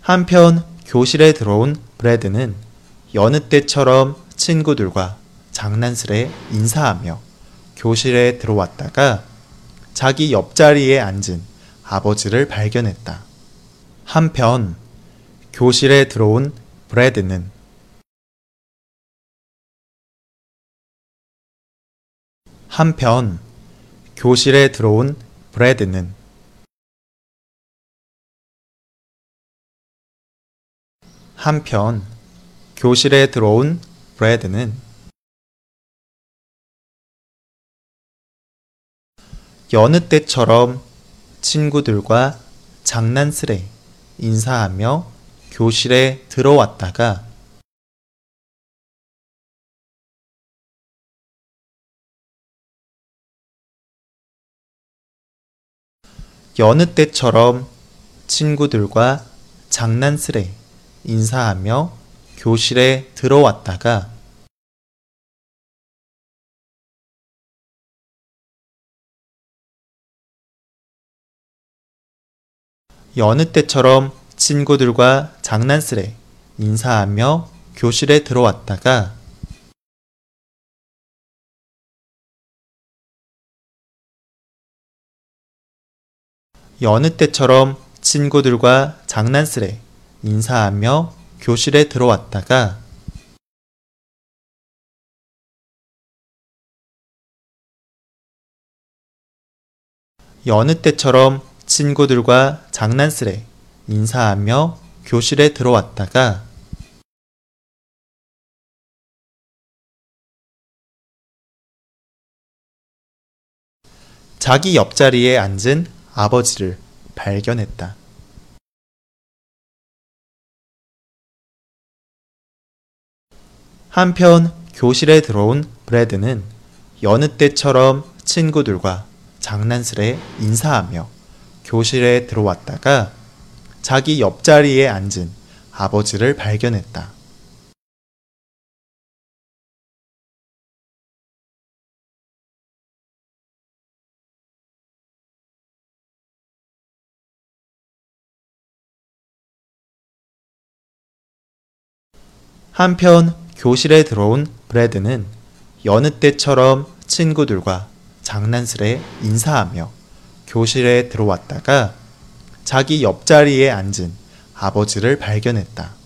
한편 교실에 들어온 브래드는 여느 때처럼 친구들과 장난스레 인사하며 교실에 들어왔다가 자기 옆자리에 앉은 아버지를 발견했다. 한편 교실에 들어온 브래드는 교실에 들어온 브래드는 여느 때처럼 친구들과 장난스레 인사하며 교실에 들어왔다가 여느 때처럼 친구들과 장난스레 인사하며 교실에 들어왔다가 여느 때처럼 친구들과 장난스레 인사하며 교실에 들어왔다가 여느 때처럼 친구들과 장난스레 인사하며 교실에 들어왔다가 여느 때처럼 친구들과 장난스레 인사하며 교실에 들어왔다가 자기 옆자리에 앉은 아버지를 발견했다. 한편 교실에 들어온 브래드는 여느 때처럼 친구들과 장난스레 인사하며 교실에 들어왔다가 자기 옆자리에 앉은 아버지를 발견했다. 한편 교실에 들어온 브래드는 여느 때처럼 친구들과 장난스레 인사하며 교실에 들어왔다가 자기 옆자리에 앉은 아버지를 발견했다.